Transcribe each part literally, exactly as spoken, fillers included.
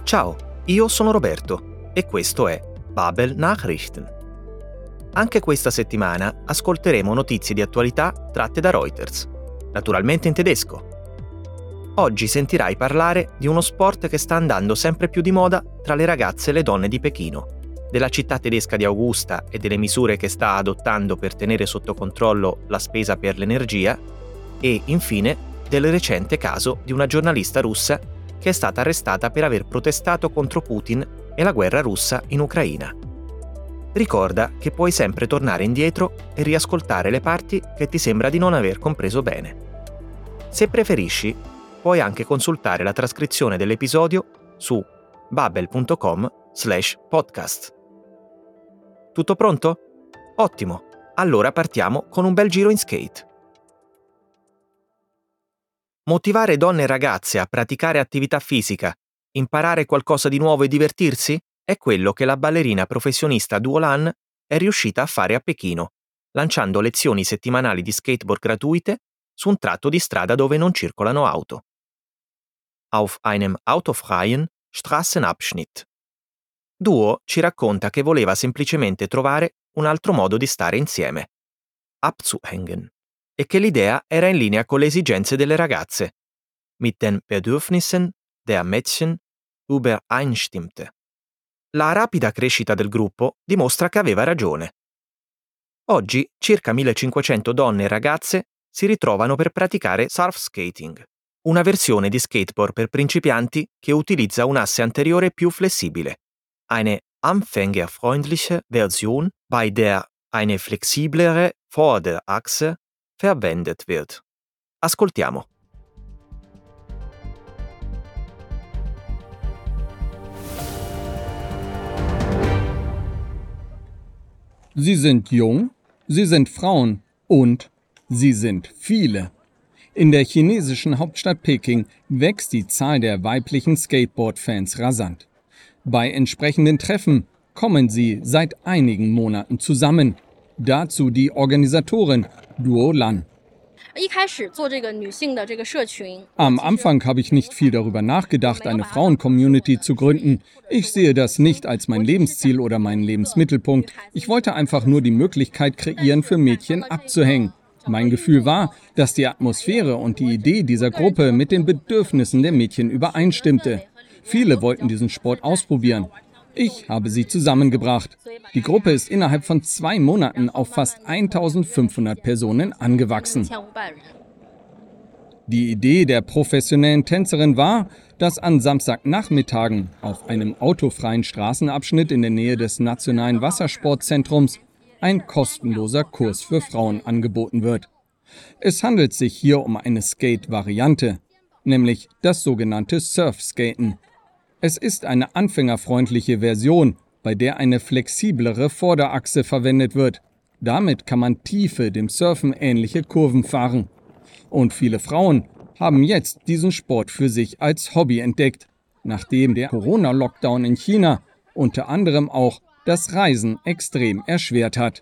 Ciao, io sono Roberto e questo è Babel Nachrichten. Anche questa settimana ascolteremo notizie di attualità tratte da Reuters, naturalmente in tedesco. Oggi sentirai parlare di uno sport che sta andando sempre più di moda tra le ragazze e le donne di Pechino, della città tedesca di Augusta e delle misure che sta adottando per tenere sotto controllo la spesa per l'energia e, infine, del recente caso di una giornalista russa che è stata arrestata per aver protestato contro Putin e la guerra russa in Ucraina. Ricorda che puoi sempre tornare indietro e riascoltare le parti che ti sembra di non aver compreso bene. Se preferisci, puoi anche consultare la trascrizione dell'episodio su babel punto com slash podcast. Tutto pronto? Ottimo! Allora partiamo con un bel giro in skate. Motivare donne e ragazze a praticare attività fisica, imparare qualcosa di nuovo e divertirsi è quello che la ballerina professionista Duo Lan è riuscita a fare a Pechino, lanciando lezioni settimanali di skateboard gratuite su un tratto di strada dove non circolano auto. Auf einem autofreien Straßenabschnitt. Duo ci racconta che voleva semplicemente trovare un altro modo di stare insieme, abzuhängen, e che l'idea era in linea con le esigenze delle ragazze, mit den Bedürfnissen der Mädchen übereinstimmte. La rapida crescita del gruppo dimostra che aveva ragione. Oggi circa millecinquecento donne e ragazze si ritrovano per praticare surfskating, una versione di skateboard per principianti che utilizza un asse anteriore più flessibile, eine anfängerfreundliche Version, bei der eine flexiblere Vorderachse verwendet wird. Ascoltiamo. Sie sind jung, sie sind Frauen und sie sind viele. In der chinesischen Hauptstadt Peking wächst die Zahl der weiblichen Skateboard-Fans rasant. Bei entsprechenden Treffen kommen sie seit einigen Monaten zusammen. Dazu die Organisatorin Duo Lan. Am Anfang habe ich nicht viel darüber nachgedacht, eine Frauen-Community zu gründen. Ich sehe das nicht als mein Lebensziel oder meinen Lebensmittelpunkt. Ich wollte einfach nur die Möglichkeit kreieren, für Mädchen abzuhängen. Mein Gefühl war, dass die Atmosphäre und die Idee dieser Gruppe mit den Bedürfnissen der Mädchen übereinstimmte. Viele wollten diesen Sport ausprobieren. Ich habe sie zusammengebracht. Die Gruppe ist innerhalb von zwei Monaten auf fast eintausendfünfhundert Personen angewachsen. Die Idee der professionellen Tänzerin war, dass an Samstagnachmittagen auf einem autofreien Straßenabschnitt in der Nähe des Nationalen Wassersportzentrums ein kostenloser Kurs für Frauen angeboten wird. Es handelt sich hier um eine Skate-Variante, nämlich das sogenannte Surfskaten. Es ist eine anfängerfreundliche Version, bei der eine flexiblere Vorderachse verwendet wird. Damit kann man tiefe, dem Surfen ähnliche Kurven fahren. Und viele Frauen haben jetzt diesen Sport für sich als Hobby entdeckt, nachdem der Corona-Lockdown in China unter anderem auch das Reisen extrem erschwert hat.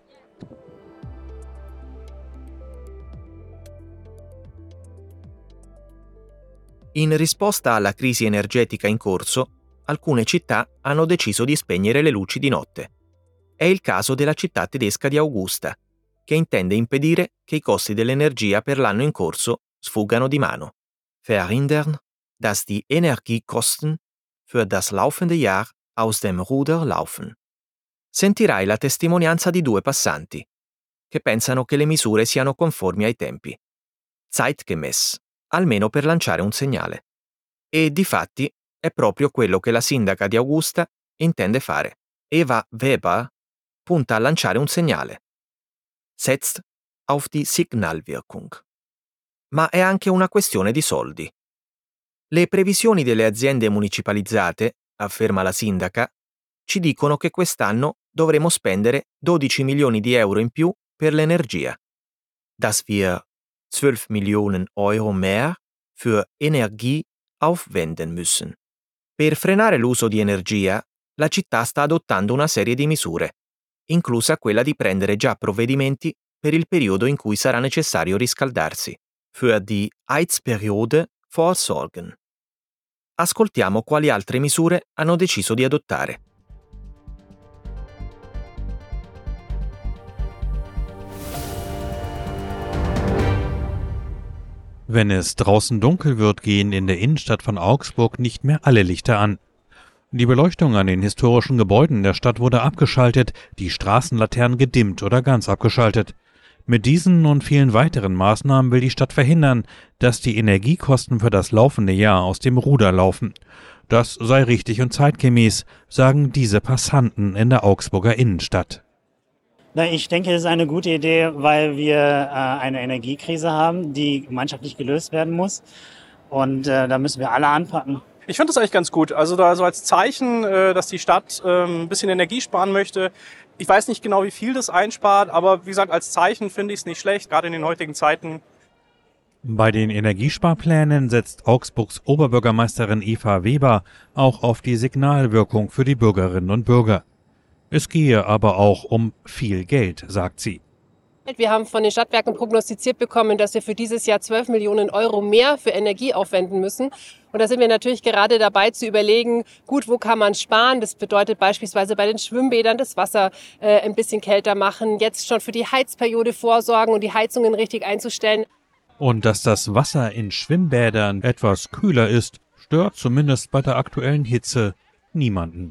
In risposta alla crisi energetica in corso, alcune città hanno deciso di spegnere le luci di notte. È il caso della città tedesca di Augusta, che intende impedire che i costi dell'energia per l'anno in corso sfuggano di mano. Verhindern, dass die Energiekosten für das laufende Jahr aus dem Ruder laufen. Sentirai la testimonianza di due passanti, che pensano che le misure siano conformi ai tempi. Zeitgemäß, almeno per lanciare un segnale. E difatti è proprio quello che la sindaca di Augusta intende fare. Eva Weber punta a lanciare un segnale. Setzt auf die Signalwirkung. Ma è anche una questione di soldi. Le previsioni delle aziende municipalizzate, afferma la sindaca, ci dicono che quest'anno dovremo spendere dodici milioni di euro in più per l'energia. Dass wir zwölf Millionen Euro mehr für Energie aufwenden müssen. Per frenare l'uso di energia, la città sta adottando una serie di misure, inclusa quella di prendere già provvedimenti per il periodo in cui sarà necessario riscaldarsi, für die Heizperiode vorsorgen. ascoltiamo quali altre misure hanno deciso di adottare. Wenn es draußen dunkel wird, gehen in der Innenstadt von Augsburg nicht mehr alle Lichter an. Die Beleuchtung an den historischen Gebäuden der Stadt wurde abgeschaltet, die Straßenlaternen gedimmt oder ganz abgeschaltet. Mit diesen und vielen weiteren Maßnahmen will die Stadt verhindern, dass die Energiekosten für das laufende Jahr aus dem Ruder laufen. Das sei richtig und zeitgemäß, sagen diese Passanten in der Augsburger Innenstadt. Ich denke, es ist eine gute Idee, weil wir äh, eine Energiekrise haben, die gemeinschaftlich gelöst werden muss. Und äh, da müssen wir alle anpacken. Ich finde das eigentlich ganz gut. Also da so als Zeichen, äh, dass die Stadt äh, ein bisschen Energie sparen möchte. Ich weiß nicht genau, wie viel das einspart, aber wie gesagt, als Zeichen finde ich es nicht schlecht, gerade in den heutigen Zeiten. Bei den Energiesparplänen setzt Augsburgs Oberbürgermeisterin Eva Weber auch auf die Signalwirkung für die Bürgerinnen und Bürger. Es gehe aber auch um viel Geld, sagt sie. Wir haben von den Stadtwerken prognostiziert bekommen, dass wir für dieses Jahr zwölf Millionen Euro mehr für Energie aufwenden müssen. Und da sind wir natürlich gerade dabei zu überlegen, gut, wo kann man sparen? Das bedeutet beispielsweise bei den Schwimmbädern das Wasser äh, ein bisschen kälter machen, jetzt schon für die Heizperiode vorsorgen und die Heizungen richtig einzustellen. Und dass das Wasser in Schwimmbädern etwas kühler ist, stört zumindest bei der aktuellen Hitze niemanden.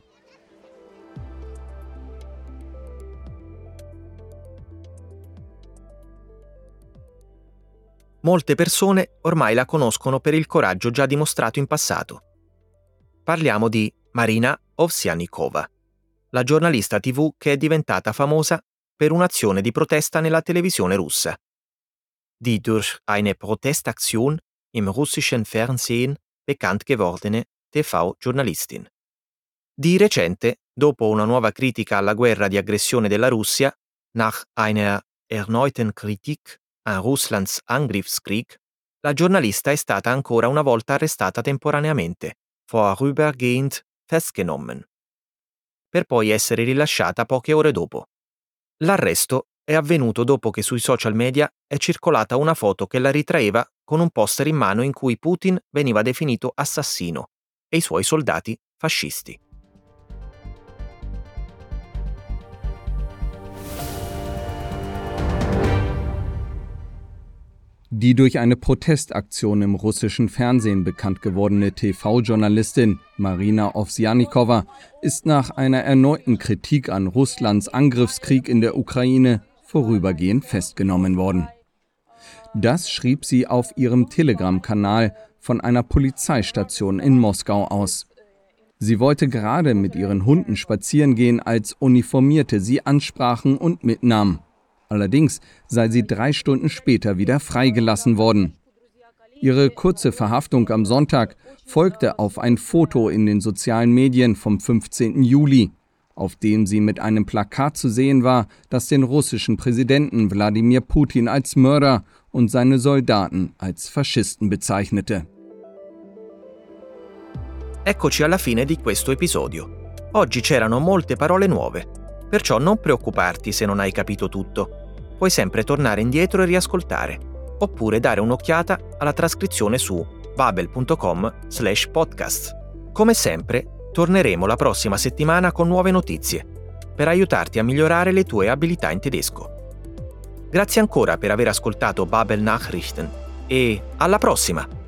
Molte persone ormai la conoscono per il coraggio già dimostrato in passato. Parliamo di Marina Ovsjanikova, la giornalista tivù che è diventata famosa per un'azione di protesta nella televisione russa. Die durch eine Protestaktion im russischen Fernsehen bekannt gewordene T V-Journalistin. Di recente, dopo una nuova critica alla guerra di aggressione della Russia, nach einer erneuten Kritik an Russlands Angriffskrieg, la giornalista è stata ancora una volta arrestata temporaneamente, vorübergehend festgenommen, per poi essere rilasciata poche ore dopo. L'arresto è avvenuto dopo che sui social media è circolata una foto che la ritraeva con un poster in mano in cui Putin veniva definito assassino e i suoi soldati fascisti. Die durch eine Protestaktion im russischen Fernsehen bekannt gewordene T V-Journalistin Marina Ovsjanikova ist nach einer erneuten Kritik an Russlands Angriffskrieg in der Ukraine vorübergehend festgenommen worden. Das schrieb sie auf ihrem Telegram-Kanal von einer Polizeistation in Moskau aus. Sie wollte gerade mit ihren Hunden spazieren gehen, als Uniformierte sie ansprachen und mitnahmen. Allerdings sei sie drei Stunden später wieder freigelassen worden. Ihre kurze Verhaftung am Sonntag folgte auf ein Foto in den sozialen Medien vom fünfzehnten Juli, auf dem sie mit einem Plakat zu sehen war, das den russischen Präsidenten Wladimir Putin als Mörder und seine Soldaten als Faschisten bezeichnete. Eccoci alla fine di questo episodio. Oggi c'erano molte parole nuove, perciò non preoccuparti se non hai capito tutto. Puoi sempre tornare indietro e riascoltare, oppure dare un'occhiata alla trascrizione su babel punto com slash podcast. Come sempre, torneremo la prossima settimana con nuove notizie, per aiutarti a migliorare le tue abilità in tedesco. Grazie ancora per aver ascoltato Babel Nachrichten e alla prossima!